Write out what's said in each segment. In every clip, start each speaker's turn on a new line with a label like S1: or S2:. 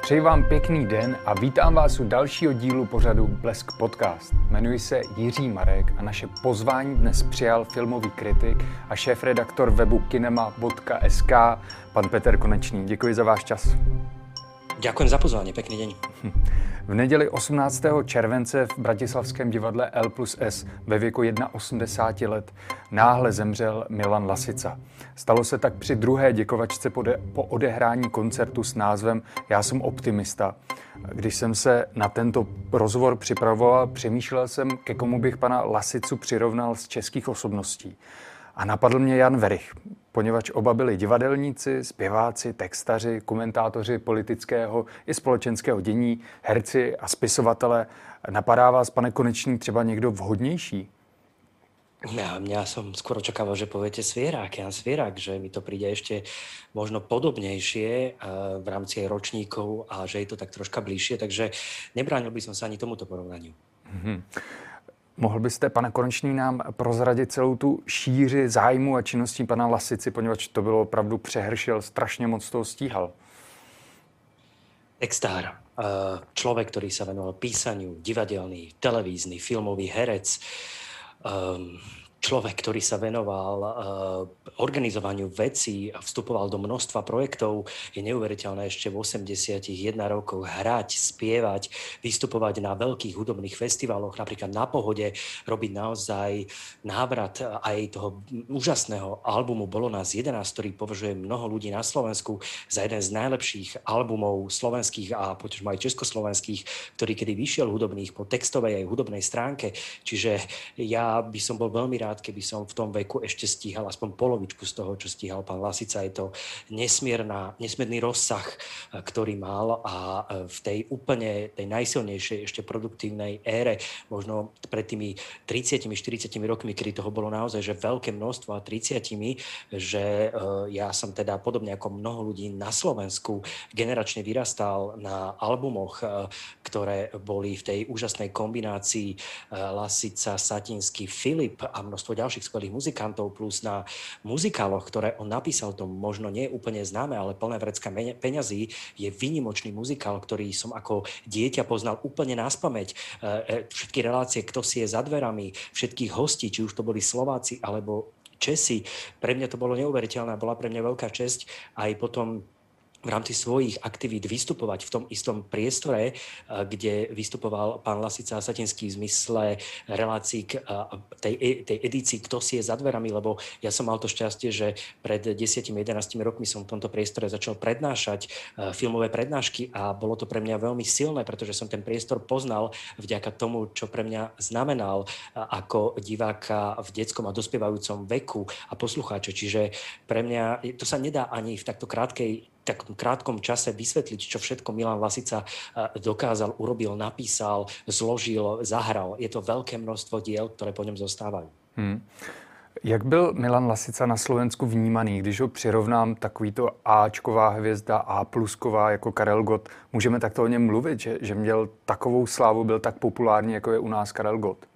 S1: Přeji vám pěkný den a vítám vás u dalšího dílu pořadu Blesk Podcast. Jmenuji se Jiří Marek a naše pozvání dnes přijal filmový kritik a šéfredaktor webu kinema.sk pan Peter Konečný. Děkuji za váš čas.
S2: Ďakujem za pozvanie, pekný deň.
S1: V neděli 18. července v bratislavském divadle L+S ve věku 81 let náhle zemřel Milan Lasica. Stalo se tak při druhé děkovačce po odehrání koncertu s názvem Já jsem optimista. Když jsem se na tento rozhovor připravoval, přemýšlel jsem, ke komu bych pana Lasicu přirovnal z českých osobností. A napadl mě Jan Werich, poněvadž oba byli divadelníci, zpěváci, textaři, komentátoři politického i společenského dění, herci a spisovatelé. Napadá vás, pane Konečný, třeba někdo vhodnější?
S2: Ja som skôr očakával, že poviete Svierák, Jan Svierák, že mi to príde ešte možno podobnejšie v rámci aj ročníkov a že je to tak troška bližšie, takže nebránil by som sa ani tomuto porovnaniu.
S1: Mohl byste, pane Konečný, nám prozradit celou tu šíři zájmu a činností pana Lasici, poněvadž to bylo opravdu přehršel, strašně moc toho stíhal.
S2: Textár, človek, ktorý sa venoval písaniu, divadelný, televízny, filmový herec, človek, ktorý sa venoval organizovaniu vecí a vstupoval do množstva projektov, je neuveriteľné ešte v 81 rokoch hrať, spievať, vystupovať na veľkých hudobných festivaloch, napríklad Na Pohode, robiť naozaj návrat aj toho úžasného albumu Bolo nás 11, ktorý považuje mnoho ľudí na Slovensku za jeden z najlepších albumov slovenských a potom aj československých, ktorý kedy vyšiel hudobných po textovej aj hudobnej stránke. Čiže ja by som bol veľmi rád, keby som v tom veku ešte stíhal aspoň polovičku z toho, čo stíhal pán Lasica. Je to nesmierny rozsah, ktorý mal a v tej úplne, tej najsilnejšej ešte produktívnej ére, možno pred tými 30-40 rokmi, kedy toho bolo naozaj že veľké množstvo a 30, že ja som teda podobne ako mnoho ľudí na Slovensku generačne vyrastal na albumoch, ktoré boli v tej úžasnej kombinácii Lasica, Satinský, Filip a množstvo ďalších skvelých muzikantov, plus na muzikáloch, ktoré on napísal, to možno nie je úplne známe, ale Plné vrecka peňazí je výnimočný muzikál, ktorý som ako dieťa poznal úplne naspamäť. Všetky relácie, kto si je za dverami, všetkých hostí, či už to boli Slováci alebo Česi, pre mňa to bolo neuveriteľné, bola pre mňa veľká česť aj potom v rámci svojich aktivít vystupovať v tom istom priestore, kde vystupoval pán Lasica a Satinský v zmysle relácií k tej edícii Kto si je za dverami, lebo ja som mal to šťastie, že pred 10-11 rokmi som v tomto priestore začal prednášať filmové prednášky a bolo to pre mňa veľmi silné, pretože som ten priestor poznal vďaka tomu, čo pre mňa znamenal ako diváka v detskom a dospievajúcom veku a poslucháče. Čiže pre mňa to sa nedá ani v takom krátkom čase vysvetliť, čo všetko Milan Lasica dokázal, urobil, napísal, zložil, zahral. Je to veľké množstvo diel, ktoré po ňom zostávajú.
S1: Jak byl Milan Lasica na Slovensku vnímaný, když ho přirovnám takovýto Ačková hvězda, A+ková jako Karel Gott? Můžeme takto o něm mluvit, že měl takovou slávu, byl tak populární, jako je u nás Karel Gott?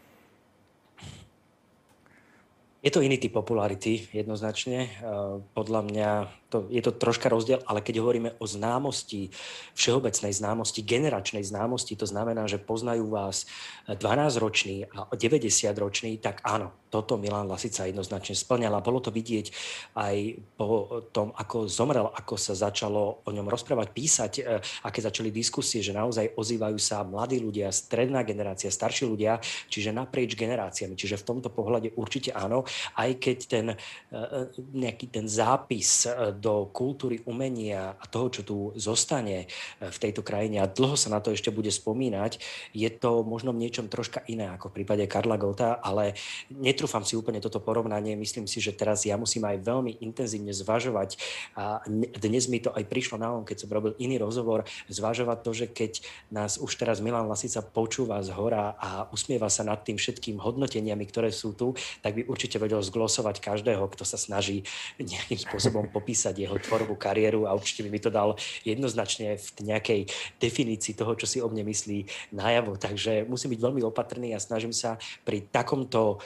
S2: Je to iný typ popularity, jednoznačne. Podľa mňa je to troška rozdiel, ale keď hovoríme o známosti, všeobecnej známosti, generačnej známosti, to znamená, že poznajú vás 12-roční a 90-roční, tak áno, toto Milan Lasica jednoznačne splňal. A bolo to vidieť aj po tom, ako zomrel, ako sa začalo o ňom rozprávať, písať, aké začali diskusie, že naozaj ozývajú sa mladí ľudia, stredná generácia, starší ľudia, čiže naprieč generáciami. Čiže v tomto pohľade určite áno, aj keď nejaký ten zápis do kultúry, umenia a toho, čo tu zostane v tejto krajine a dlho sa na to ešte bude spomínať, je to možno v niečom troška iné ako v prípade Karla Gotta, ale netrúfam si úplne toto porovnanie. Myslím si, že teraz ja musím aj veľmi intenzívne zvažovať a dnes mi to aj prišlo na keď som robil iný rozhovor, zvažovať to, že keď nás už teraz Milan Lasica počúva z hora a usmieva sa nad tým všetkým hodnoteniami, ktoré sú tu, tak by určite vedel zglosovať každého, kto sa snaží nejakým spôsobom popísať jeho tvorbu, kariéru a určite by mi to dal jednoznačne v nejakej definícii toho, čo si o mne myslí najavo. Takže musím byť veľmi opatrný a snažím sa pri takomto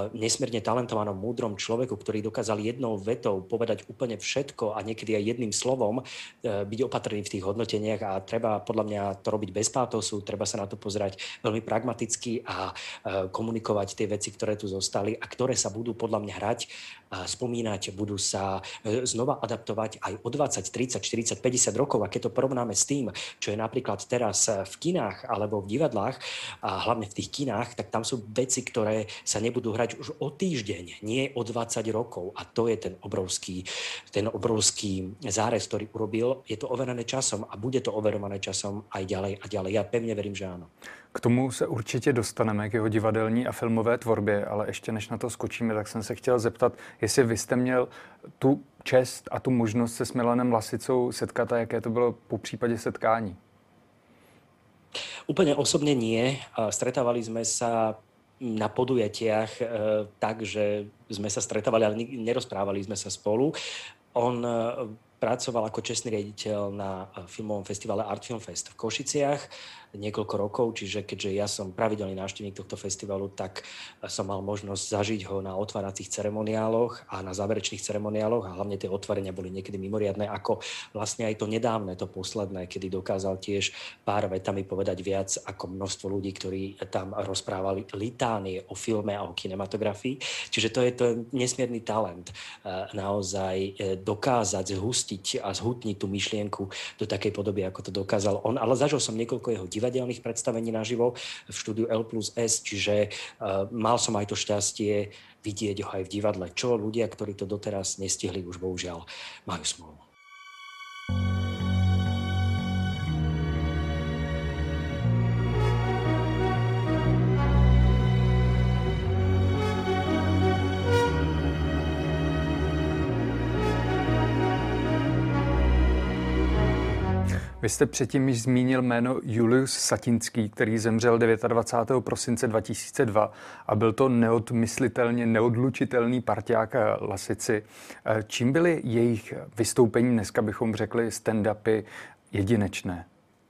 S2: nesmierne talentovanom, múdrom človeku, ktorý dokázal jednou vetou povedať úplne všetko a niekedy aj jedným slovom byť opatrný v tých hodnoteniach a treba podľa mňa to robiť bez pátosu, treba sa na to pozerať veľmi pragmaticky a komunikovať tie veci, ktoré tu zostali a ktoré sa budú podľa mňa hrať, spomínať, budú sa znova adaptovať aj o 20, 30, 40, 50 rokov. A keď to porovnáme s tým, čo je napríklad teraz v kinách alebo v divadlách, a hlavne v tých kinách, tak tam sú veci, ktoré sa nebudú hrať už o týždeň, nie o 20 rokov. A to je ten obrovský zárez, ktorý urobil. Je to overené časom a bude to overované časom aj ďalej a ďalej. Ja pevne verím, že áno.
S1: K tomu se určitě dostaneme, k jeho divadelní a filmové tvorbě, ale ještě než na to skočíme, tak jsem se chtěl zeptat, jestli vy jste měl tu čest a tu možnost se s Milanem Lasicou setkat a jaké to bylo po případě setkání?
S2: Úplne osobne nie. Stretávali sme sa na podujatiach tak, že sme sa stretávali, ale nerozprávali sme sa spolu. On pracoval ako čestný riaditeľ na filmovom festivale Art Film Fest v Košiciach niekoľko rokov, čiže keďže ja som pravidelný návštevník tohto festivalu, tak som mal možnosť zažiť ho na otváracích ceremoniáloch a na záverečných ceremoniáloch a hlavne tie otvorenia boli niekedy mimoriadne, ako vlastne aj to nedávne, to posledné, kedy dokázal tiež pár vetami povedať viac ako množstvo ľudí, ktorí tam rozprávali litánie o filme a o kinematografii. Čiže to je nesmierny talent naozaj dokázať zhustiť a zhutniť tú myšlienku do takej podoby, ako to dokázal on. Ale zažil som niekoľko jeho divadelných predstavení naživo v štúdiu L+S, čiže mal som aj to šťastie vidieť ho aj v divadle, čo ľudia, ktorí to doteraz nestihli, už bohužiaľ majú smolu.
S1: Vy jste předtím již zmínil jméno Julius Satinský, který zemřel 29. prosince 2002 a byl to neodmyslitelně neodlučitelný parťák Lasici. Čím byly jejich vystoupení, dneska bychom řekli stand-upy, jedinečné?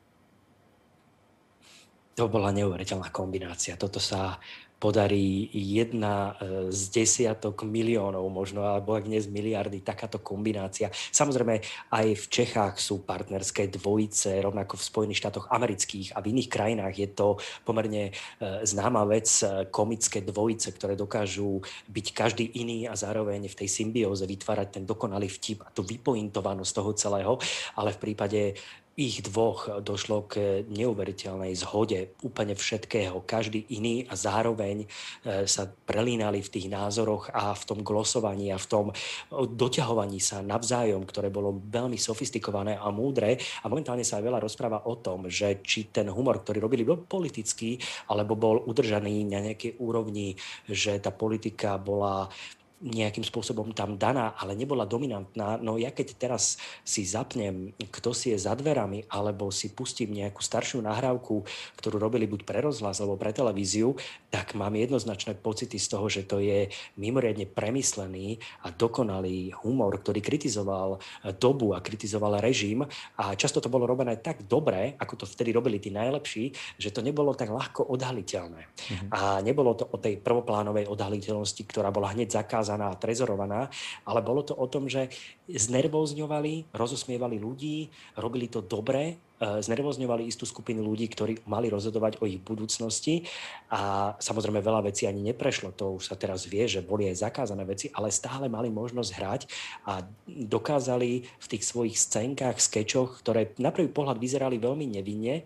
S2: To bola neuveriteľná kombinácia. Toto sa podarí jedna z desiatok miliónov možno, alebo ak nie z miliardy, takáto kombinácia. Samozrejme, aj v Čechách sú partnerské dvojice, rovnako v Spojených štátoch amerických a v iných krajinách je to pomerne známa vec, komické dvojice, ktoré dokážu byť každý iný a zároveň v tej symbióze vytvárať ten dokonalý vtip a tú vypointovanosť toho celého, ale v prípade ich dvoch došlo k neuveriteľnej zhode úplne všetkého, každý iný a zároveň sa prelínali v tých názoroch a v tom glosovaní a v tom doťahovaní sa navzájom, ktoré bolo veľmi sofistikované a múdre a momentálne sa aj veľa rozpráva o tom, že či ten humor, ktorý robili, bol politický alebo bol udržaný na nejakej úrovni, že tá politika bola nejakým spôsobom tam daná, ale nebola dominantná. No ja keď teraz si zapnem, kto si je za dverami, alebo si pustím nejakú staršiu nahrávku, ktorú robili buď pre rozhlas alebo pre televíziu, tak mám jednoznačné pocity z toho, že to je mimoriadne premyslený a dokonalý humor, ktorý kritizoval dobu a kritizoval režim a často to bolo robené tak dobre, ako to vtedy robili tí najlepší, že to nebolo tak ľahko odhaliteľné. A nebolo to o tej prvoplánovej odhaliteľnosti, ktorá bola hneď zakázaná a trezorovaná, ale bolo to o tom, že znervózňovali, rozosmievali ľudí, robili to dobre, znervózňovali istú skupinu ľudí, ktorí mali rozhodovať o ich budúcnosti a samozrejme veľa vecí ani neprešlo, to už sa teraz vie, že boli aj zakázané veci, ale stále mali možnosť hrať a dokázali v tých svojich scénkach, skečoch, ktoré na prvý pohľad vyzerali veľmi nevinne,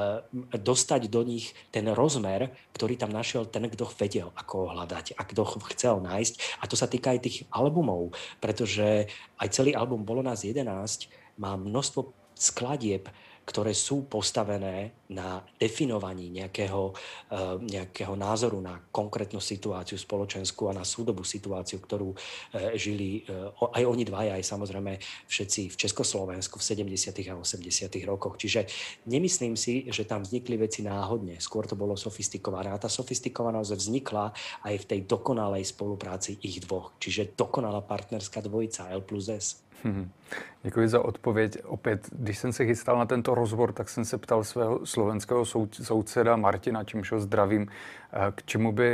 S2: dostať do nich ten rozmer, ktorý tam našiel ten, kto vedel, ako ho hľadať a kto ho chcel nájsť. A to sa týka aj tých albumov, pretože aj celý album Bolo nás 11 má množstvo skladieb, ktoré sú postavené na definovaní nejakého názoru na konkrétnu situáciu spoločenskú a na súdobú situáciu, ktorú žili aj oni dvaja, aj samozrejme všetci v Československu v 70. a 80. rokoch. Čiže nemyslím si, že tam vznikli veci náhodne. Skôr to bolo sofistikované. A tá sofistikovanosť vznikla aj v tej dokonalej spolupráci ich dvoch. Čiže dokonalá partnerská dvojica L+S.
S1: Děkuji za odpověď. Opět, když jsem se chystal na tento rozbor, tak jsem se ptal svého slovenského souseda Martina, čímž ho zdravím, k čemu by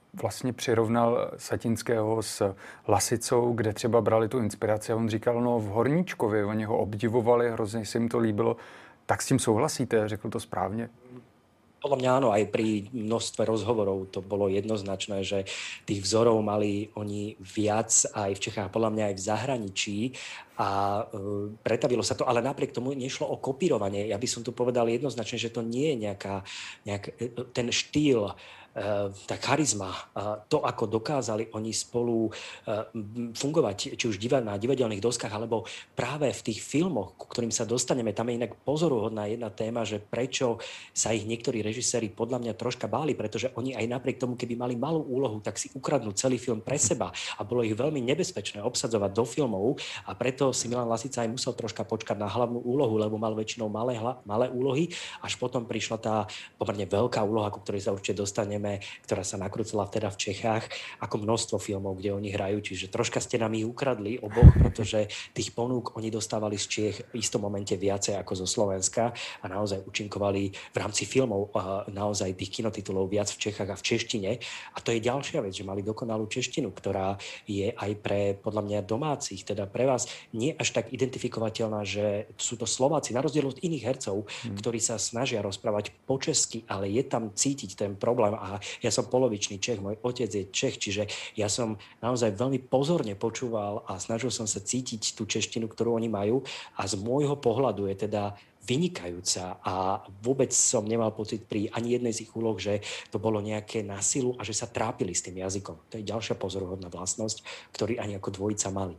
S1: vlastně přirovnal Satinského s Lasicou, kde třeba brali tu inspiraci a on říkal, no v Horníčkově, oni ho obdivovali, hrozně se jim to líbilo. Tak s tím souhlasíte? Řekl to správně?
S2: Podľa mňa áno, aj pri množstve rozhovorov to bolo jednoznačné, že tých vzorov mali oni viac aj v Čechách, podľa mňa aj v zahraničí a pretavilo sa to, ale napriek tomu nešlo o kopírovanie. Ja by som tu povedal jednoznačne, že to nie je ten štýl, tá charizma, to, ako dokázali oni spolu fungovať, či už na divadelných doskách, alebo práve v tých filmoch, ku ktorým sa dostaneme. Tam je inak pozoruhodná jedna téma, že prečo sa ich niektorí režiséri podľa mňa troška báli, pretože oni aj napriek tomu, keby mali malú úlohu, tak si ukradnú celý film pre seba a bolo ich veľmi nebezpečné obsadzovať do filmov a preto si Milan Lasica aj musel troška počkať na hlavnú úlohu, lebo mal väčšinou malé úlohy, až potom prišla tá pomerne veľká úloha, ku ktorej sa určite dostaneme, ktorá sa nakrúcala teda v Čechách, ako množstvo filmov, kde oni hrajú. Čiže troška ste nám ich ukradli oboch, pretože tých ponúk oni dostávali z Čiech v istom momente viacej ako zo Slovenska a naozaj účinkovali v rámci filmov naozaj tých kinotitulov viac v Čechách a v češtine. A to je ďalšia vec, že mali dokonalú češtinu, ktorá je aj pre, podľa mňa, domácich, teda pre vás nie až tak identifikovateľná, že sú to Slováci, na rozdiel od iných hercov, ktorí sa snažia rozprávať po česky, ale je tam cítiť ten problém. A ja som polovičný Čech, môj otec je Čech, čiže ja som naozaj veľmi pozorne počúval a snažil som sa cítiť tú češtinu, ktorú oni majú a z môjho pohľadu je teda vynikajúca a vôbec som nemal pocit pri ani jednej z ich úloh, že to bolo nejaké násilu a že sa trápili s tým jazykom. To je ďalšia pozoruhodná vlastnosť, ktorý ani ako dvojica mali.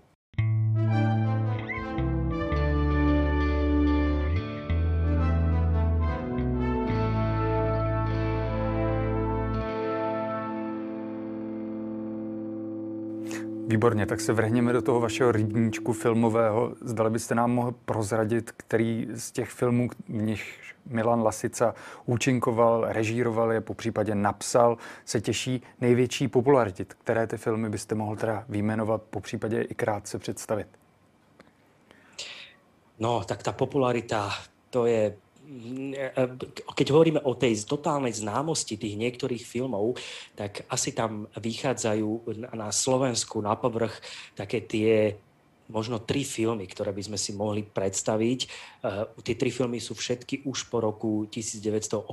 S1: Výborně, tak se vrhněme do toho vašeho rybníčku filmového. Zdali byste nám mohl prozradit, který z těch filmů, v nich Milan Lasica účinkoval, režíroval je, popřípadě napsal, se těší největší popularitě. Které ty filmy byste mohl teda vyjmenovat, popřípadě i krátce představit?
S2: No, tak tá popularita, to je... Keď hovoríme o tej totálnej známosti tých niektorých filmov, tak asi tam vychádzajú na Slovensku na povrch také tie možno 3 filmy, ktoré by sme si mohli predstaviť. Tie 3 filmy sú všetky už po roku 1980.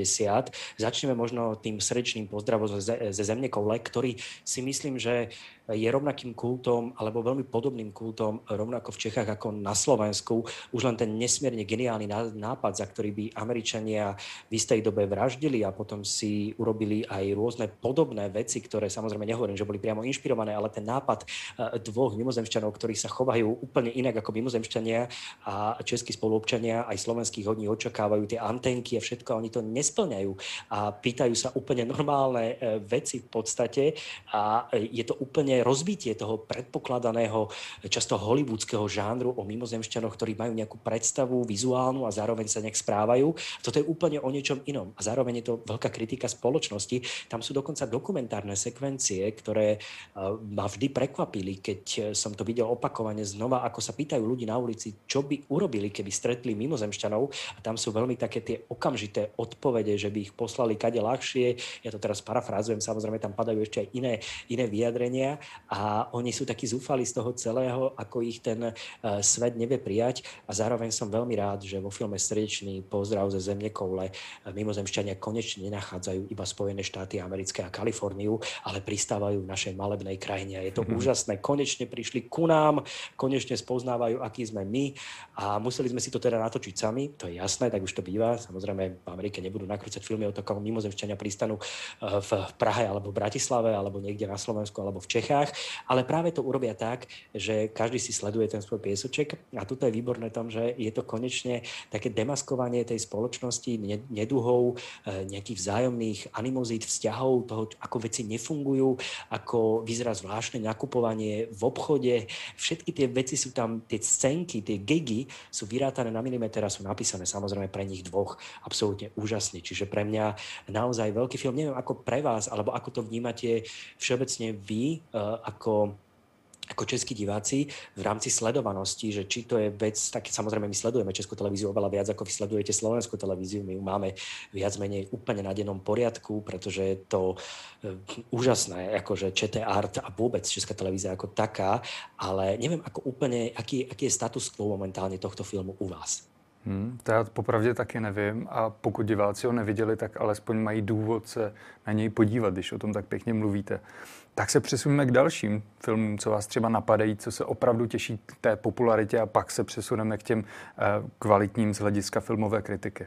S2: Začneme možno tým srdečným pozdravom ze Zemnekoule, ktorý si myslím, že je rovnakým kultom, alebo veľmi podobným kultom, rovnako v Čechách ako na Slovensku. Už len ten nesmierne geniálny nápad, za ktorý by Američania v istej dobe vraždili a potom si urobili aj rôzne podobné veci, ktoré samozrejme nehovorím, že boli priamo inšpirované, ale ten nápad dvoch mimozemšťanov, ktorí sa chovajú úplne inak ako mimozemšťania a českí spoluobčania, aj slovenských od nich očakávajú tie antenky a všetko, a oni to nesplňajú a pýtajú sa úplne normálne veci v podstate a je to úplne rozbitie toho predpokladaného, často hollywoodského žánru o mimozemšťanoch, ktorí majú nejakú predstavu vizuálnu a zároveň sa nejak správajú. Toto je úplne o niečom inom. A zároveň je to veľká kritika spoločnosti. Tam sú dokonca dokumentárne sekvencie, ktoré ma vždy prekvapili, keď som to videl opakovane znova, ako sa pýtajú ľudí na ulici, čo by urobili, keby stretli mimozemšťanov. A tam sú veľmi také tie okamžité odpovede, že by ich poslali kade ľahšie. Ja to teraz parafrázujem, samozrejme tam padajú ešte aj iné vyjadrenia. A oni sú takí zúfali z toho celého, ako ich ten svet nevie prijať. A zároveň som veľmi rád, že vo filme Srdečný pozdrav ze Zemnekoule mimozemšťania konečne nenachádzajú iba Spojené štáty americké a Kaliforniu, ale pristávajú v našej malebnej krajine. Je to úžasné. Konečne prišli ku nám, konečne spoznávajú, akí sme my a museli sme si to teda natočiť sami. To je jasné, tak už to býva. Samozrejme v Amerike nebudú nakrúcať filmy o tom, ako mimozemšťania pristanú v Prahe alebo v Bratislave alebo niekde na Slovensku alebo v Čechách. Ale práve to urobia tak, že každý si sleduje ten svoj piesoček a tuto je výborné tom, že je to konečne také demaskovanie tej spoločnosti, neduhov, nejakých vzájomných animozít, vzťahov, toho, ako veci nefungujú, ako vyzerá zvláštne nakupovanie v obchode. Všetky tie veci sú tam, tie scénky, tie gigy sú vyrátané na milimeter a sú napísané samozrejme pre nich dvoch absolútne úžasne. Čiže pre mňa naozaj veľký film. Neviem ako pre vás, alebo ako to vnímate všeobecne vy, ako ako českí diváci v rámci sledovanosti, že či to je vec, tak samozrejme my sledujeme Českú televíziu oveľa viac, ako vy sledujete Slovenskú televíziu. My ju máme viac menej úplne na dennom poriadku, pretože je to úžasné, akože ČT Art a vôbec Česká televízia ako taká, ale neviem, ako úplne, aký je status quo momentálne tohto filmu u vás.
S1: To já popravdě taky nevím a pokud diváci ho neviděli, tak alespoň mají důvod se na něj podívat, když o tom tak pěkně mluvíte. Tak se přesuneme k dalším filmům, co vás třeba napadají, co se opravdu těší k té popularitě a pak se přesuneme k těm kvalitním z hlediska filmové kritiky.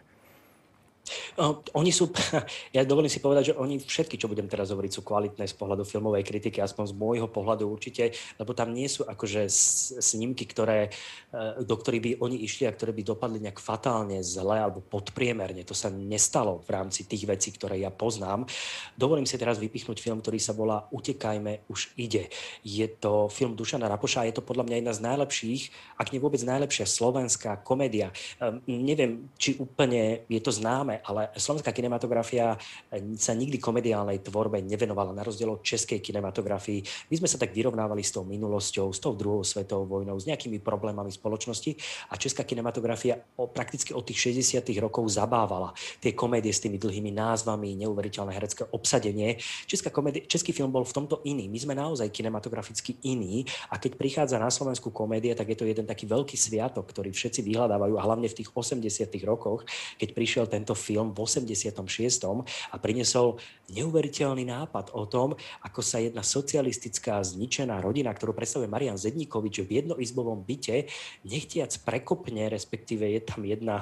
S2: Oni sú, ja dovolím si povedať, že oni všetky, čo budem teraz hovoriť, sú kvalitné z pohľadu filmovej kritiky, aspoň z môjho pohľadu určite, lebo tam nie sú akože snímky, do ktorých by oni išli a ktoré by dopadli nejak fatálne zle alebo podpriemerne. To sa nestalo v rámci tých vecí, ktoré ja poznám. Dovolím si teraz vypichnúť film, ktorý sa volá Utekajme, už ide. Je to film Dušana Rapoša a je to podľa mňa jedna z najlepších, ak nie vôbec najlepšia slovenská komédia. Neviem, či úplne je to známe, ale slovenská kinematografia sa nikdy komediálnej tvorbe nevenovala, na rozdiel od českej kinematografii. My sme sa tak vyrovnávali s tou minulosťou, s tou druhou svetovou vojnou, s nejakými problémami spoločnosti a česká kinematografia prakticky od tých 60. rokov zabávala tie komédie s tými dlhými názvami, neuveriteľné herecké obsadenie. Český film bol v tomto iný. My sme naozaj kinematograficky iní a keď prichádza na Slovensku komédia, tak je to jeden taký veľký sviatok, ktorý všetci vyhľadávajú a hlavne v tých 80. rokoch, keď prišiel tento film v 86. a priniesol neuveriteľný nápad o tom, ako sa jedna socialistická zničená rodina, ktorú predstavuje Marian Zedníkovič v jednoizbovom byte, nechtiac prekopne, respektíve je tam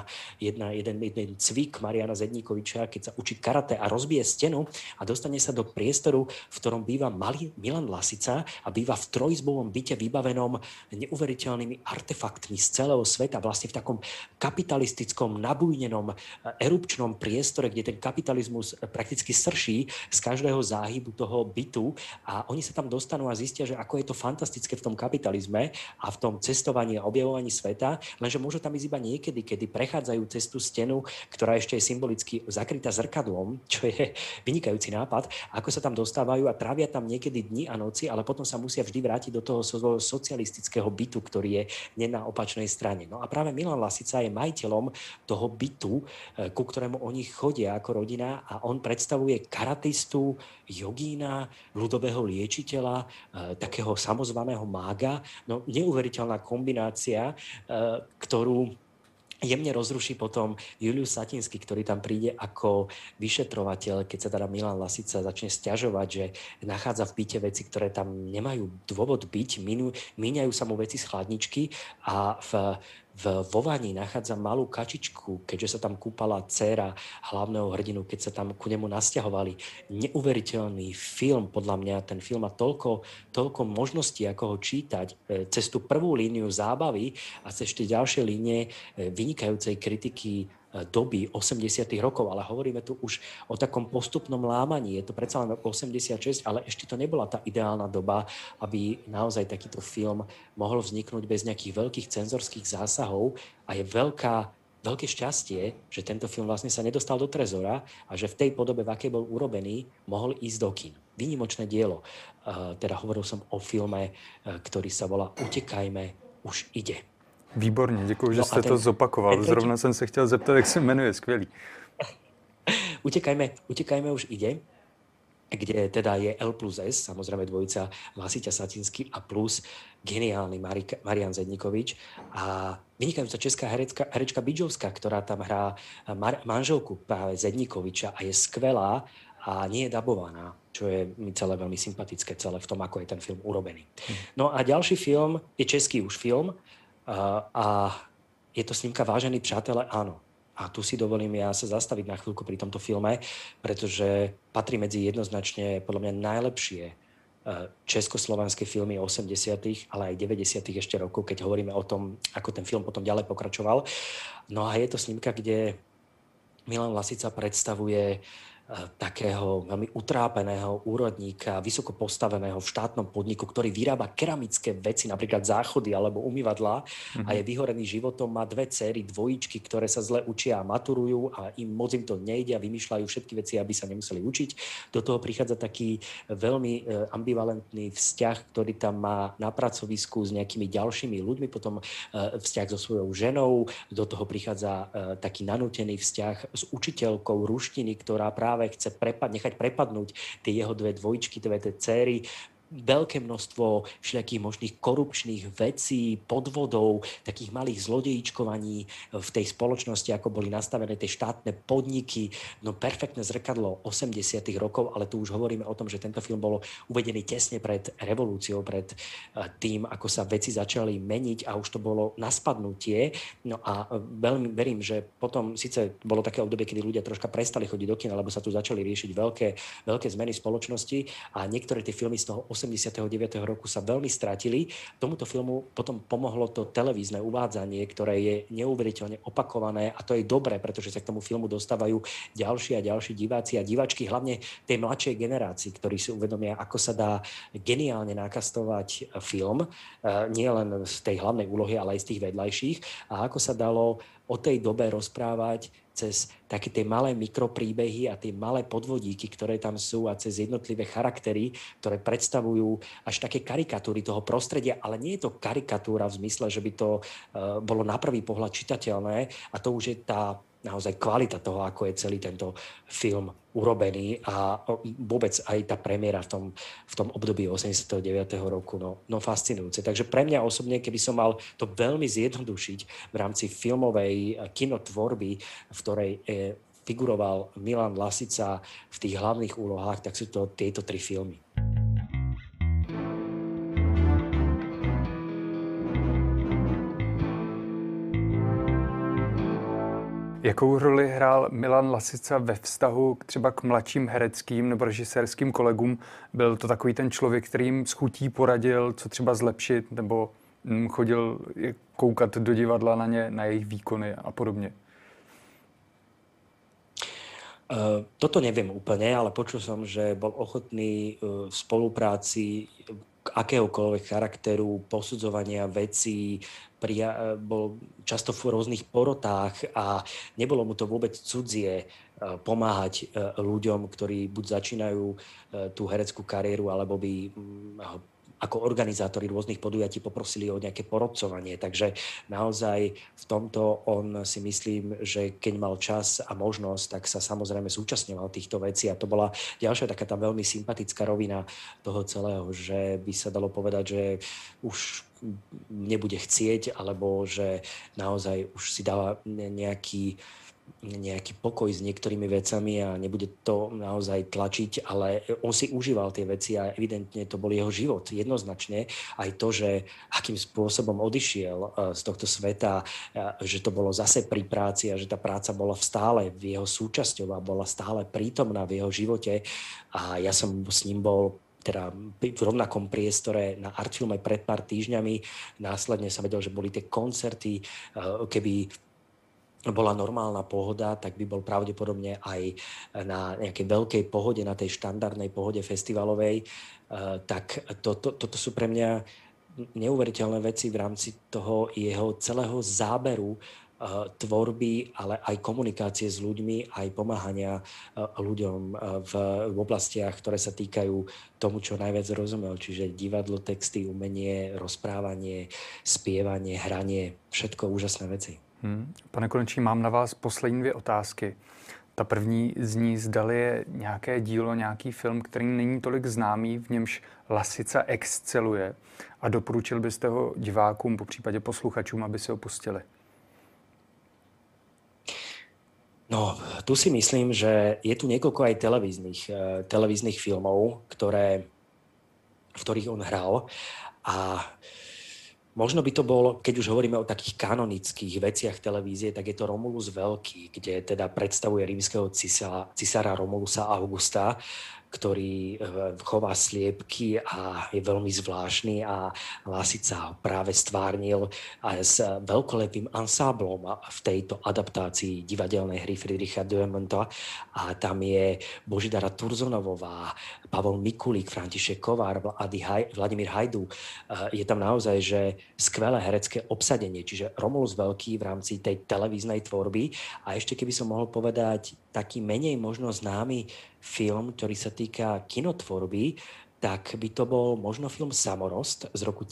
S2: jeden cvik Mariana Zedníkoviča, keď sa učí karate a rozbije stenu a dostane sa do priestoru, v ktorom býva Milan Lasica a býva v trojizbovom byte vybavenom neuveriteľnými artefaktmi z celého sveta, vlastne v takom kapitalistickom, nabujnenom erupčnom priestore, kde ten kapitalizmus prakticky srší z každého záhybu toho bytu a oni sa tam dostanú a zistia, že ako je to fantastické v tom kapitalizme a v tom cestovaní a objavovaní sveta, lenže môžu tam ísť iba niekedy, kedy prechádzajú cez tú stenu, ktorá ešte je symbolicky zakrytá zrkadlom, čo je vynikajúci nápad, ako sa tam dostávajú a trávia tam niekedy dni a noci, ale potom sa musia vždy vrátiť do toho socialistického bytu, ktorý je na opačnej strane. No a práve Milan Lasica je majiteľom toho bytu, ku ktorému oni chodia ako rodina a on predstavuje karatistu, jogína, ľudového liečiteľa, takého samozvaného mága. No neuveriteľná kombinácia, ktorú jemne rozruší potom Julius Satinsky, ktorý tam príde ako vyšetrovateľ, keď sa teda Milan Lasica začne sťažovať, že nachádza v byte veci, ktoré tam nemajú dôvod byť, míňajú sa mu veci z chladničky a vo vani nachádza malú kačičku, keďže sa tam kúpala dcéra hlavného hrdinu, keď sa tam ku nemu nasťahovali. Neuveriteľný film, podľa mňa ten film má toľko možností, ako ho čítať cez tú prvú líniu zábavy a cez ešte ďalšie línie vynikajúcej kritiky doby 80. rokov, ale hovoríme tu už o takom postupnom lámaní. Je to predsa len 86, ale ešte to nebola tá ideálna doba, aby naozaj takýto film mohol vzniknúť bez nejakých veľkých cenzorských zásahov a je veľké šťastie, že tento film vlastne sa nedostal do trezora a že v tej podobe, v akej bol urobený, mohol ísť do kín. Výnimočné dielo. Teda hovoril som o filme, ktorý sa volá Utekajme, už ide.
S1: Výborně, děkuji, že jste to zopakoval. Zrovna jsem se chtěl zeptat, jak se jmenuje, skvělý.
S2: Utekajme už ide, kde teda je L+S, samozrejme dvojica Lasica Satinsky a plus geniálny Marian Zedníkovič a vynikajúca česká herečka Bidžovská, ktorá tam hrá manželku práve Zedníkoviča a je skvelá a nie je dabovaná, čo je mi celé veľmi sympatické celé v tom, ako je ten film urobený. No a ďalší film je český už film, a je to snímka Vážení přátelé, áno. A tu si dovolím ja sa zastaviť na chvíľku pri tomto filme, pretože patrí medzi jednoznačne podľa mňa najlepšie československé filmy 80., ale aj 90. ešte rokov, keď hovoríme o tom, ako ten film potom ďalej pokračoval. No a je to snímka, kde Milan Lasica predstavuje takého veľmi utrápeného úrodníka, vysoko postaveného v štátnom podniku, ktorý vyrába keramické veci, napríklad záchody alebo umývadlá a je vyhorený životom, má dve dcery, dvojičky, ktoré sa zle učia a maturujú a moc im to nejde a vymýšľajú všetky veci, aby sa nemuseli učiť. Do toho prichádza taký veľmi ambivalentný vzťah, ktorý tam má na pracovisku s nejakými ďalšími ľuďmi, potom vzťah so svojou ženou, do toho prichádza taký nanútený vzťah s učiteľkou ruštiny, ktorá práve chce nechať prepadnúť tie jeho dve dvojičky, dve céry. Veľké množstvo všelijakých možných korupčných vecí, podvodov, takých malých zlodejíčkovaní v tej spoločnosti, ako boli nastavené tie štátne podniky. No perfektné zrkadlo 80. rokov, ale tu už hovoríme o tom, že tento film bol uvedený tesne pred revolúciou, pred tým, ako sa veci začali meniť a už to bolo na spadnutie. No a veľmi verím, že potom síce bolo také obdobie, kedy ľudia troška prestali chodiť do kina, lebo sa tu začali riešiť veľké zmeny spoločnosti a niektoré tie filmy z toho 89. roku sa veľmi stratili. Tomuto filmu potom pomohlo to televízne uvádzanie, ktoré je neuveriteľne opakované a to je dobré, pretože sa k tomu filmu dostávajú ďalší a ďalší diváci a diváčky, hlavne tej mladšej generácii, ktorí si uvedomia, ako sa dá geniálne nakastovať film, nie len z tej hlavnej úlohy, ale aj z tých vedľajších a ako sa dalo o tej dobe rozprávať cez také tie malé mikropríbehy a tie malé podvodíky, ktoré tam sú a cez jednotlivé charaktery, ktoré predstavujú až také karikatúry toho prostredia, ale nie je to karikatúra v zmysle, že by to bolo na prvý pohľad čitateľné a to už je tá naozaj kvalita toho, ako je celý tento film urobený a vôbec aj tá premiéra v tom období 89. roku, no fascinujúce. Takže pre mňa osobne, keby som mal to veľmi zjednodušiť v rámci filmovej kinotvorby, v ktorej figuroval Milan Lasica v tých hlavných úlohách, tak sú to tieto tri filmy.
S1: Jakou roli hrál Milan Lasica ve vztahu třeba k mladším hereckým nebo režisérským kolegům? Byl to takový ten člověk, který jim s chutí poradil, co třeba zlepšit, nebo chodil koukat do divadla na ně, na jejich výkony a podobně?
S2: Toto neviem úplne, ale počul som, že bol ochotný v spolupráci akéhokoľvek charakteru, posudzovania vecí, bol často v rôznych porotách a nebolo mu to vôbec cudzie pomáhať ľuďom, ktorí buď začínajú tú hereckú kariéru, alebo by ako organizátori rôznych podujatí poprosili o nejaké porodcovanie. Takže naozaj v tomto on si myslím, že keď mal čas a možnosť, tak sa samozrejme zúčastňoval týchto vecí. A to bola ďalšia taká tá veľmi sympatická rovina toho celého, že by sa dalo povedať, že už nebude chcieť, alebo že naozaj už si dáva nejaký pokoj s niektorými vecami a nebude to naozaj tlačiť, ale on si užíval tie veci a evidentne to bol jeho život. Jednoznačne aj to, že akým spôsobom odišiel z tohto sveta, že to bolo zase pri práci a že tá práca bola stále v jeho súčasťou a bola stále prítomná v jeho živote. A ja som s ním bol teda v rovnakom priestore na Artfilme pred pár týždňami. Následne sa vedel, že boli tie koncerty, keby bola normálna pohoda, tak by bol pravdepodobne aj na nejakej veľkej pohode, na tej štandardnej pohode festivalovej. Tak toto sú pre mňa neuveriteľné veci v rámci toho jeho celého záberu tvorby, ale aj komunikácie s ľuďmi, aj pomáhania ľuďom v oblastiach, ktoré sa týkajú tomu, čo najviac rozumel. Čiže divadlo, texty, umenie, rozprávanie, spievanie, hranie, všetko úžasné veci.
S1: Pane Konečný, mám na vás poslední dvě otázky. Ta první zní, zdali je nějaké dílo, nějaký film, který není tolik známý, v němž Lasica exceluje a doporučil byste ho divákům, popřípadě posluchačům, aby si ho pustili?
S2: No, tu si myslím, že je tu niekoľko aj televíznych filmov, v ktorých on hral a možno by to bol, keď už hovoríme o takých kanonických veciach televízie, tak je to Romulus Veľký, kde teda predstavuje rímskeho cisára Romulusa Augusta, ktorý chová sliepky a je veľmi zvláštny a Lasica ho práve stvárnil aj s veľkolepým ansáblom v tejto adaptácii divadelnej hry Friedricha Dürrenmatta. A tam je Božidara Turzonovová, Pavol Mikulík, František Kovár, Vladimír Hajdu. Je tam naozaj že skvelé herecké obsadenie, čiže Romulus Veľký v rámci tej televíznej tvorby. A ešte keby som mohol povedať taký menej možno známy film, ktorý sa týka kinotvorby, tak by to bol možno film Samorost z roku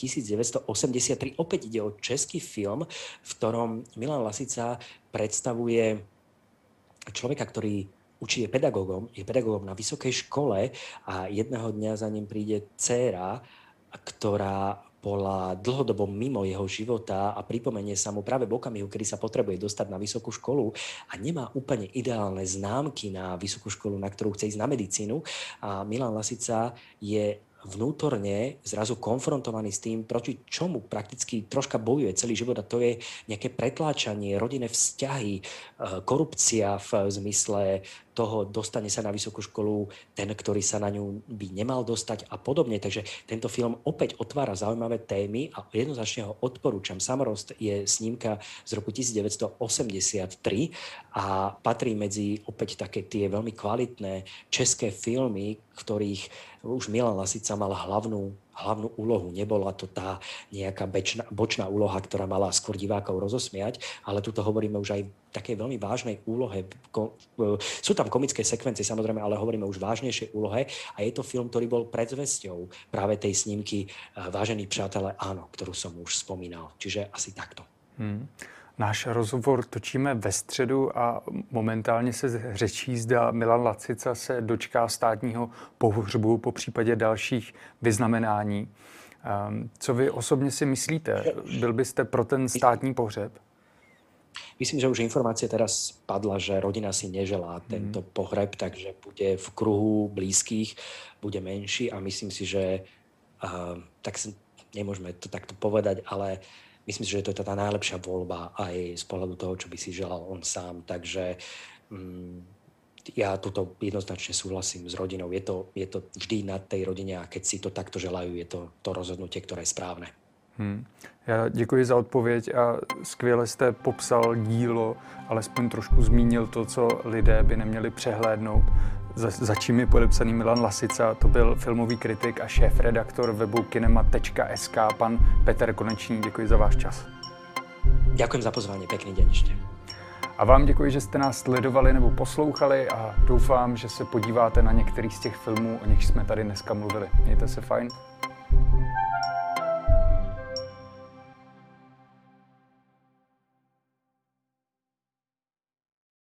S2: 1983. Opäť ide o český film, v ktorom Milan Lasica predstavuje človeka, ktorý je pedagógom na vysokej škole a jedného dňa za ním príde dcéra, ktorá bola dlhodobo mimo jeho života a pripomenie sa mu práve v okamihu, kedy sa potrebuje dostať na vysokú školu a nemá úplne ideálne známky na vysokú školu, na ktorú chce ísť na medicínu. A Milan Lasica je vnútorne zrazu konfrontovaný s tým, proti čomu prakticky troška bojuje celý život, a to je nejaké pretláčanie, rodinné vzťahy, korupcia v zmysle toho, dostane sa na vysokú školu ten, ktorý sa na ňu by nemal dostať a podobne. Takže tento film opäť otvára zaujímavé témy a jednoznačne ho odporúčam. Samorost je snímka z roku 1983 a patrí medzi opäť také tie veľmi kvalitné české filmy, ktorých už Milan Lasica mal hlavnú úlohu. Nebola to tá nejaká bočná úloha, ktorá mala skôr divákov rozosmiať, ale tuto hovoríme už aj v takej veľmi vážnej úlohe. Sú tam komické sekvencie, samozrejme, ale hovoríme už vážnejšej úlohe a je to film, ktorý bol predzvesťou práve tej snímky Vážení přátelé, áno, ktorú som už spomínal. Čiže asi takto.
S1: Náš rozhovor točíme ve středu a momentálně se řečí, zda Milan Lasica se dočká státního pohřbu, po případě dalších vyznamenání. Co vy osobně si myslíte? Byl byste pro ten státní pohřeb?
S2: Myslím, že už informácia teraz padla, že rodina si neželá tento pohreb, takže bude v kruhu blízkych, bude menší a myslím si, že tak nemôžeme to takto povedať, ale myslím si, že to je tá najlepšia voľba aj z pohľadu toho, čo by si želal on sám. Takže ja tuto jednoznačne súhlasím s rodinou. Je to vždy na tej rodine a keď si to takto želajú, je to rozhodnutie, ktoré je správne.
S1: Já děkuji za odpověď a skvěle jste popsal dílo, alespoň trošku zmínil to, co lidé by neměli přehlédnout. Za čím je podepsaný Milan Lasica, to byl filmový kritik a šéf-redaktor webu kinema.sk, pan Peter Konečný. Děkuji za váš čas.
S2: Ďakujem za pozvání, pekný deň ešte.
S1: A vám děkuji, že jste nás sledovali nebo poslouchali a doufám, že se podíváte na některý z těch filmů, o nich jsme tady dneska mluvili. Mějte se fajn.